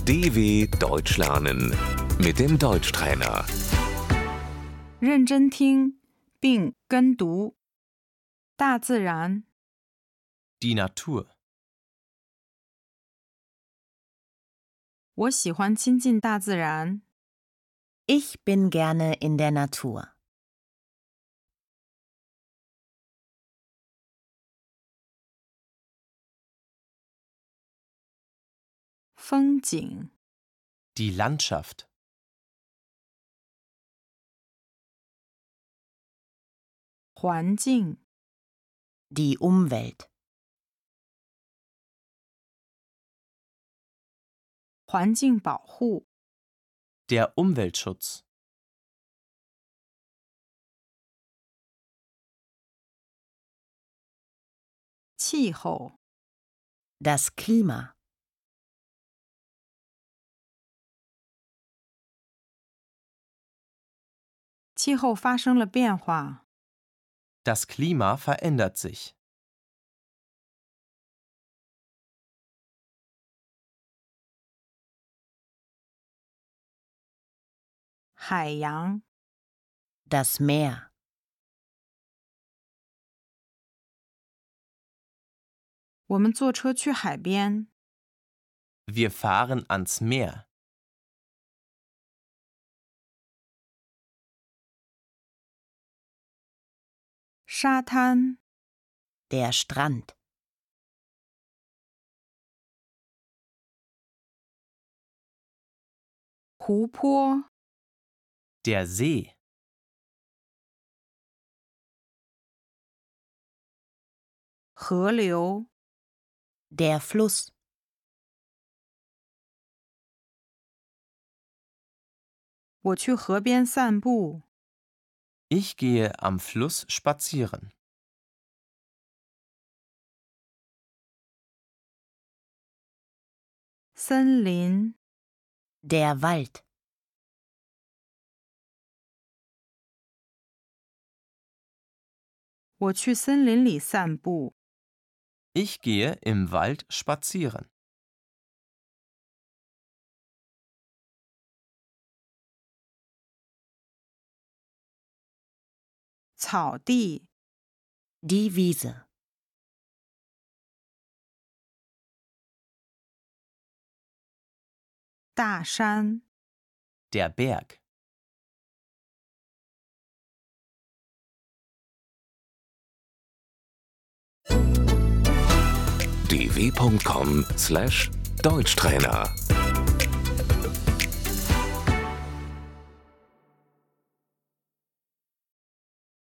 DW Deutsch lernen mit dem Deutschtrainer. 认真听并跟读。大自然， Die Natur. 我喜欢亲近大自然。 Ich bin gerne in der Natur. 风景， Die Landschaft. 环境， Die Umwelt. 环境保护， Der Umweltschutz. 气候， Das Klima. 气候发生了变化。 Das Klima verändert sich. 海洋， Das Meer. 我们坐车去海边。 Wir fahren ans Meer. 沙滩， Der Strand. 湖泊， Der See. 河流， Der Fluss. 我去河边散步。 Ich gehe am Fluss spazieren. 森林， Der Wald. 我去森林里散步。 Ich gehe im Wald spazieren. 草地， Die Wiese. 大山， Der Berg. dw.com/Deutschtrainer